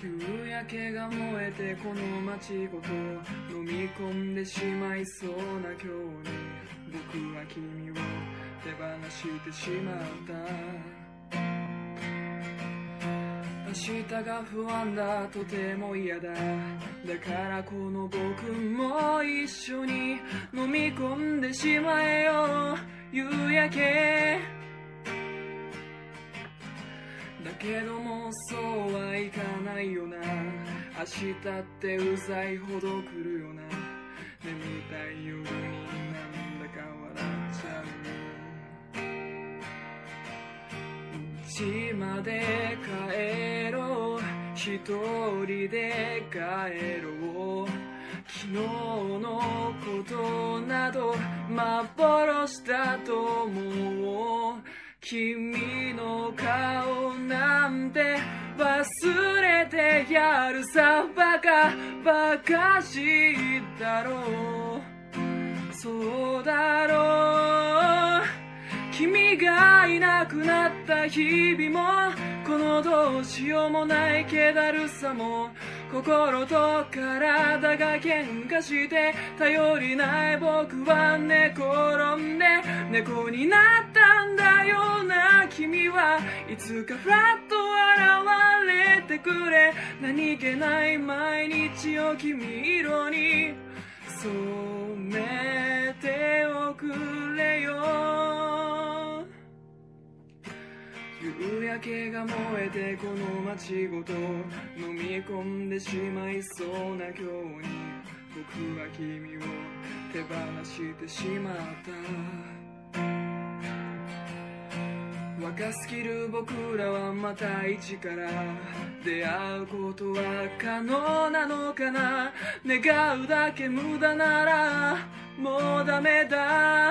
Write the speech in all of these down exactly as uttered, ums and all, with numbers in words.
夕焼けが燃えてこの街ごと飲み込んでしまいそうな今日に僕は君を手放してしまった明日が不安だとても嫌だだからこの僕も一緒に飲み込んでしまえよ夕焼けだけどもそうはいかないよな明日ってうざいほど来るよな眠たい夜になんだか笑っちゃう家まで帰ろう一人で帰ろう昨日のことなど幻だと思う君の顔なんて忘れてやるさバカバカしいだろうそうだろう君がいなくなった日々もこのどうしようもない気だるさも心と体が喧嘩して頼りない僕は寝転んで猫になったんだよな君はいつかふらっと現れてくれ何気ない毎日を君色に染めておくれよ夕焼けが燃えてこの街ごと飲み込んでしまいそうな今日に僕は君を手放してしまった若すぎる僕らはまた一から出会うことは可能なのかな願うだけ無駄ならもうダメだ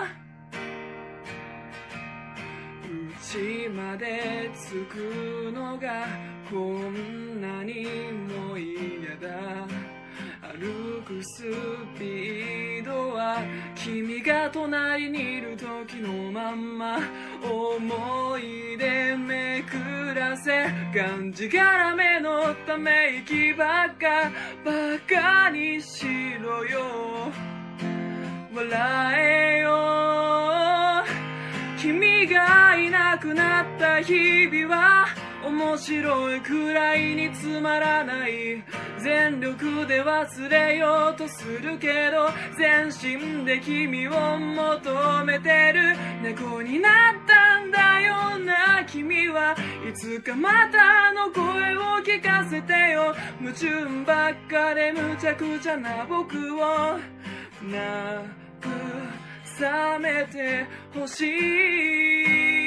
家まで着くのがこんなにも嫌だ歩くスピードは君が隣にいる時のまんま思い出めくらせがんじがらめのため息ばっかバカにしろよ笑えよ君がいなくなった日々は面白いくらいにつまらない全力で忘れようとするけど全身で君を求めてる猫になったんだよな君はいつかまたあの声を聞かせてよ夢中ばっかで無茶苦茶な僕をなく覚めてほしい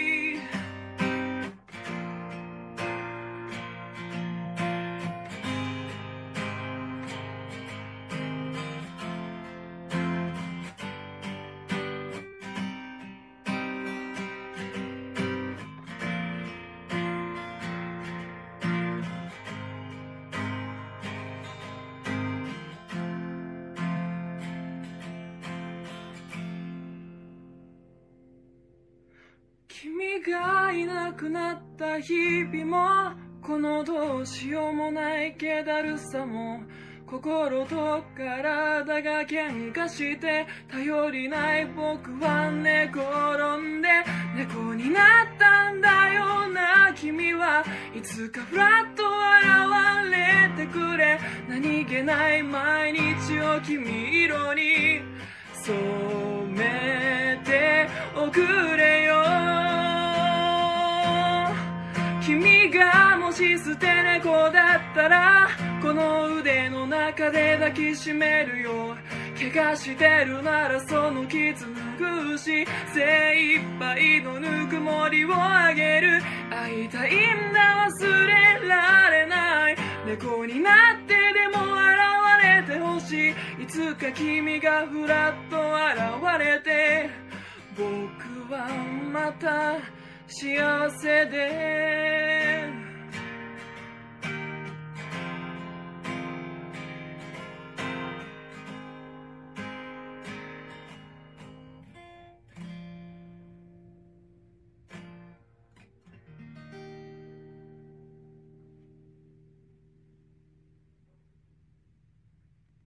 君がいなくなった日々もこのどうしようもない気だるさも心と体が喧嘩して頼りない僕は寝転んで猫になったんだよな君はいつかふらっと現れてくれ何気ない毎日を君色に染めておくれよ君がもし捨て猫だったらこの腕の中で抱きしめるよ怪我してるならその傷拭うし精一杯のぬくもりをあげる会いたいんだ忘れられない猫になってでも現れてほしいいつか君がふらっと現れて僕はまた幸せで